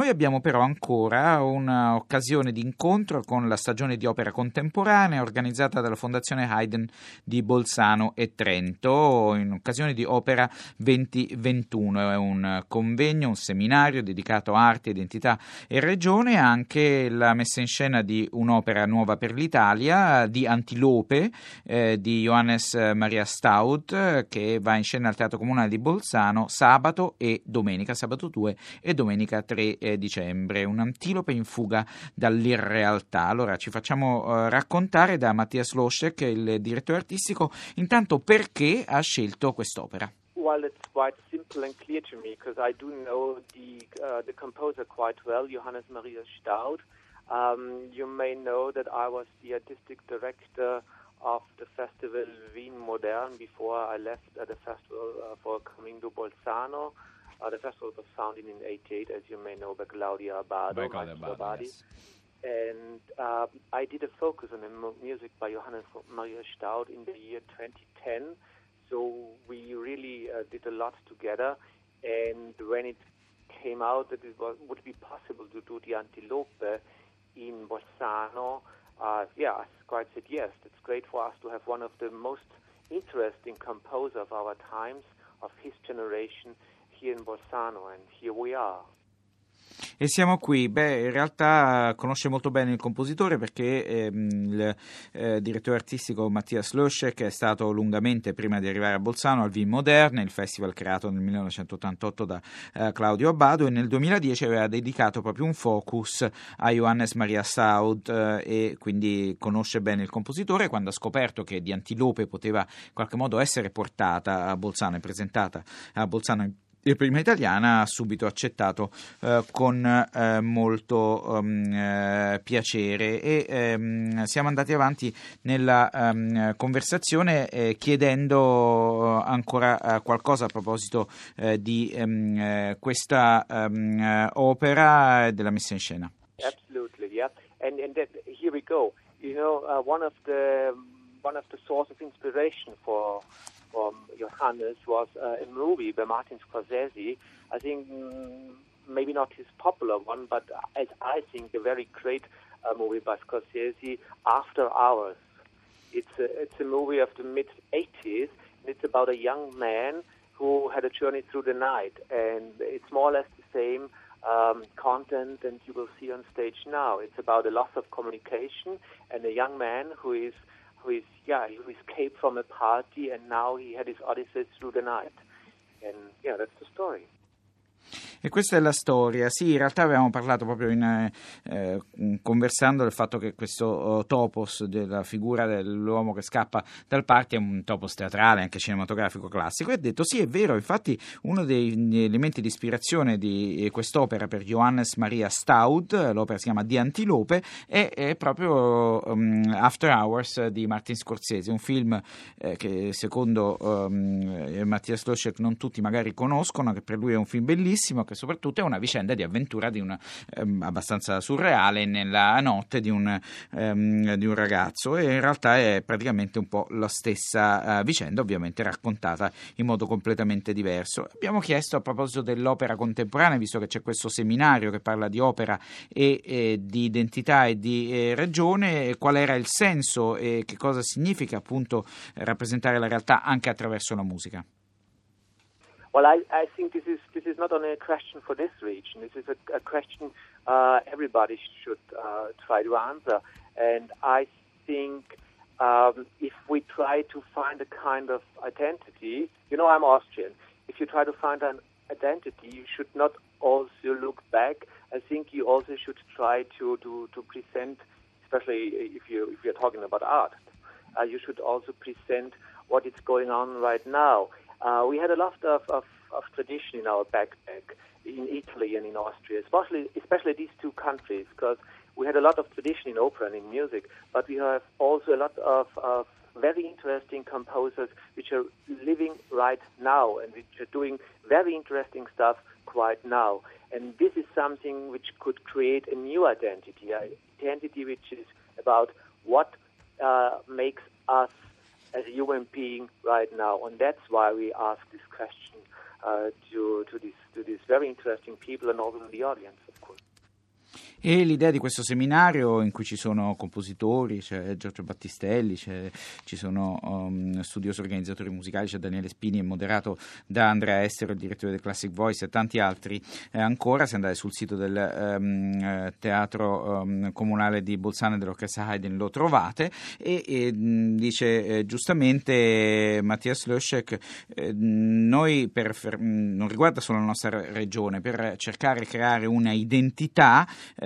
abbiamo però ancora un'occasione di incontro con la stagione di opera contemporanea organizzata dalla Fondazione Haydn di Bolzano e Trento in occasione di Opera 2021. È un convegno, un seminario dedicato a arte, identità e regione, anche la messa in scena di un'opera nuova per l'Italia di Antilope di Johannes Maria Staud, che va in scena al Teatro Comunale di Bolzano sabato 2 e domenica 3 dicembre. Un'antilope in fuga dall'irrealtà. Allora ci facciamo raccontare da Matthias Loschek, il direttore artistico, intanto perché ha scelto quest'opera. Well, it's quite simple and clear to me because I do know the composer quite well, Johannes Maria Staud. You may know that I was the artistic director of the festival Wien Modern before I left the festival for coming to Bolzano. The festival was founded in 1988, as you may know, by Claudia Abbado. Yes. And I did a focus on the music by Johannes Maria Staud in the year 2010. So we really did a lot together. And when it came out that it would be possible to do the Antilope in Bolzano, I quite said yes. It's great for us to have one of the most interesting composers of our times, of his generation, here in Bolzano, and here we are. E siamo qui. In realtà conosce molto bene il compositore perché il direttore artistico Matthias Loschek è stato lungamente, prima di arrivare a Bolzano, al Wien Moderne, il festival creato nel 1988 da Claudio Abbado, e nel 2010 aveva dedicato proprio un focus a Johannes Maria Staud e quindi conosce bene il compositore. Quando ha scoperto che di Antilope poteva in qualche modo essere portata a Bolzano e presentata a Bolzano in prima italiana, ha subito accettato con molto piacere, e siamo andati avanti nella conversazione chiedendo ancora qualcosa a proposito di questa opera e della messa in scena. Absolutely, yeah. And that, here we go. You know, one of the source of inspiration for Johannes was a movie by Martin Scorsese. I think maybe not his popular one, but as I think a very great movie by Scorsese, After Hours. It's a movie of the mid-80s, and it's about a young man who had a journey through the night, and it's more or less the same content that you will see on stage now. It's about the loss of communication and a young man who escaped from a party, and now he had his odyssey through the night. And that's the story. E questa è la storia. Sì, in realtà avevamo parlato proprio conversando del fatto che questo topos della figura dell'uomo che scappa dal party è un topos teatrale, anche cinematografico classico, e ha detto sì, è vero. Infatti uno degli elementi di ispirazione di quest'opera per Johannes Maria Staud, l'opera si chiama Di Antilope, è proprio After Hours di Martin Scorsese, un film che secondo Matthias Loschek non tutti magari conoscono, che per lui è un film bellissimo, che soprattutto è una vicenda di avventura di abbastanza surreale nella notte di un ragazzo, e in realtà è praticamente un po' la stessa vicenda, ovviamente raccontata in modo completamente diverso. Abbiamo chiesto a proposito dell'opera contemporanea, visto che c'è questo seminario che parla di opera e di identità e di regione, qual era il senso e che cosa significa appunto rappresentare la realtà anche attraverso la musica. Well, I think this is not only a question for this region. This is a question everybody should try to answer. And I think if we try to find a kind of identity, I'm Austrian. If you try to find an identity, you should not also look back. I think you also should try to present, especially if you're talking about art, you should also present what is going on right now. We had a lot of tradition in our backpack in Italy and in Austria, especially these two countries, because we had a lot of tradition in opera and in music, but we have also a lot of very interesting composers which are living right now and which are doing very interesting stuff right now. And this is something which could create a new identity which is about what makes us as a human being right now, and that's why we ask this question to these very interesting people and also to the audience, of course. E l'idea di questo seminario in cui ci sono compositori, c'è Giorgio Battistelli, ci sono studiosi organizzatori musicali, c'è Daniele Spini, è moderato da Andrea Estero, il direttore del Classic Voice, e tanti altri ancora. Se andate sul sito del Teatro Comunale di Bolzano e dell'Orchestra Haydn lo trovate, e dice giustamente Matthias Löschek, noi non riguarda solo la nostra regione, per cercare di creare una identità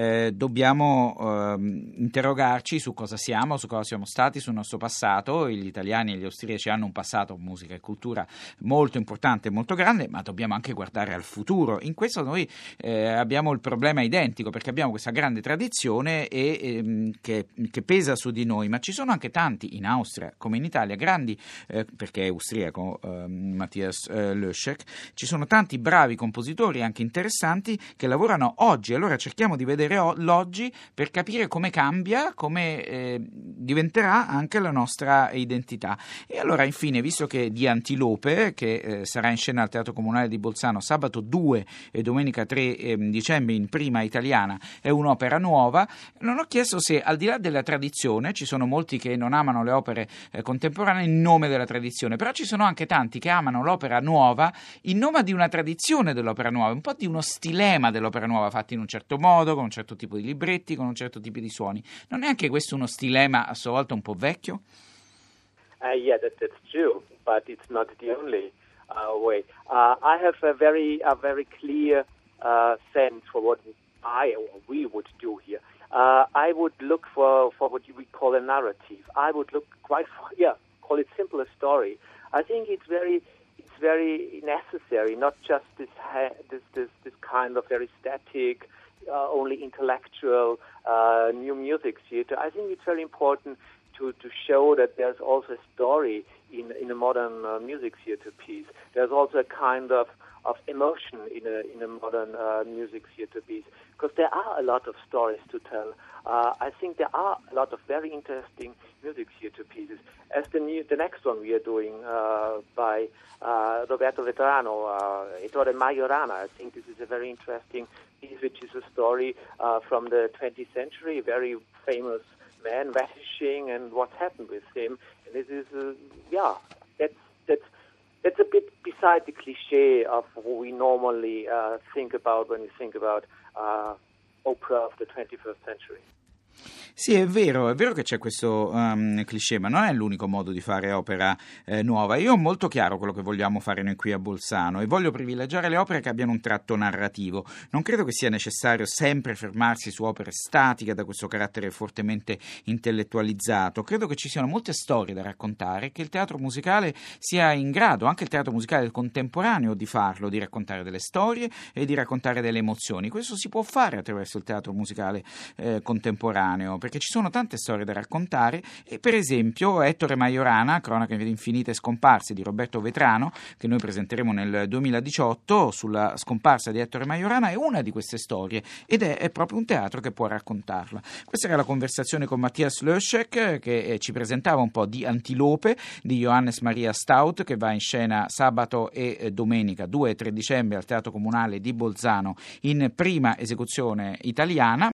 dobbiamo interrogarci su cosa siamo, su cosa siamo stati, sul nostro passato. Gli italiani e gli austriaci hanno un passato, musica e cultura, molto importante e molto grande, ma dobbiamo anche guardare al futuro. In questo noi abbiamo il problema identico, perché abbiamo questa grande tradizione che pesa su di noi, ma ci sono anche tanti in Austria come in Italia, grandi, perché è austriaco Matthias Löschek, ci sono tanti bravi compositori anche interessanti che lavorano oggi. Allora cerchiamo di vedere l'oggi per capire come cambia, come diventerà anche la nostra identità. E allora infine, visto che di Antilope, che sarà in scena al Teatro Comunale di Bolzano sabato 2 e domenica 3 dicembre in prima italiana, è un'opera nuova, non ho chiesto se al di là della tradizione, ci sono molti che non amano le opere contemporanee in nome della tradizione, però ci sono anche tanti che amano l'opera nuova in nome di una tradizione dell'opera nuova, un po' di uno stilema dell'opera nuova, fatti in un certo modo, con un certo tipo di libretti, con un certo tipo di suoni. Non è anche questo uno stilema a sua volta un po' vecchio? Yeah, that's true, but it's not the only way. I have a very clear sense for what we would do here. I would look for what we call a narrative. I would look call it simple a story. I think it's very necessary, not just this kind of very static, only intellectual new music theater. I think it's very important to show that there's also a story in a modern music theater piece. There's also a kind of emotion in a modern music theater piece, because there are a lot of stories to tell. I think there are a lot of very interesting music theater pieces. As the next one we are doing by Roberto Vetrano, Ettore Majorana. I think this is a very interesting piece, which is a story from the 20th century, a very famous man vanishing and what happened with him. And this is, that's a bit beside the cliché of what we normally think about when we think about opera of the 21st century. Sì, è vero che c'è questo cliché, ma non è l'unico modo di fare opera nuova. Io ho molto chiaro quello che vogliamo fare noi qui a Bolzano e voglio privilegiare le opere che abbiano un tratto narrativo. Non credo che sia necessario sempre fermarsi su opere statiche da questo carattere fortemente intellettualizzato. Credo che ci siano molte storie da raccontare, che il teatro musicale sia in grado, anche il teatro musicale del contemporaneo, di farlo, di raccontare delle storie e di raccontare delle emozioni. Questo si può fare attraverso il teatro musicale contemporaneo, perché ci sono tante storie da raccontare. E per esempio Ettore Majorana, Cronache infinite scomparse di Roberto Vetrano, che noi presenteremo nel 2018 sulla scomparsa di Ettore Majorana, è una di queste storie ed è proprio un teatro che può raccontarla. Questa era la conversazione con Matthias Löschek, che ci presentava un po' di Antilope di Johannes Maria Stout, che va in scena sabato e domenica 2 e 3 dicembre al Teatro Comunale di Bolzano in prima esecuzione italiana.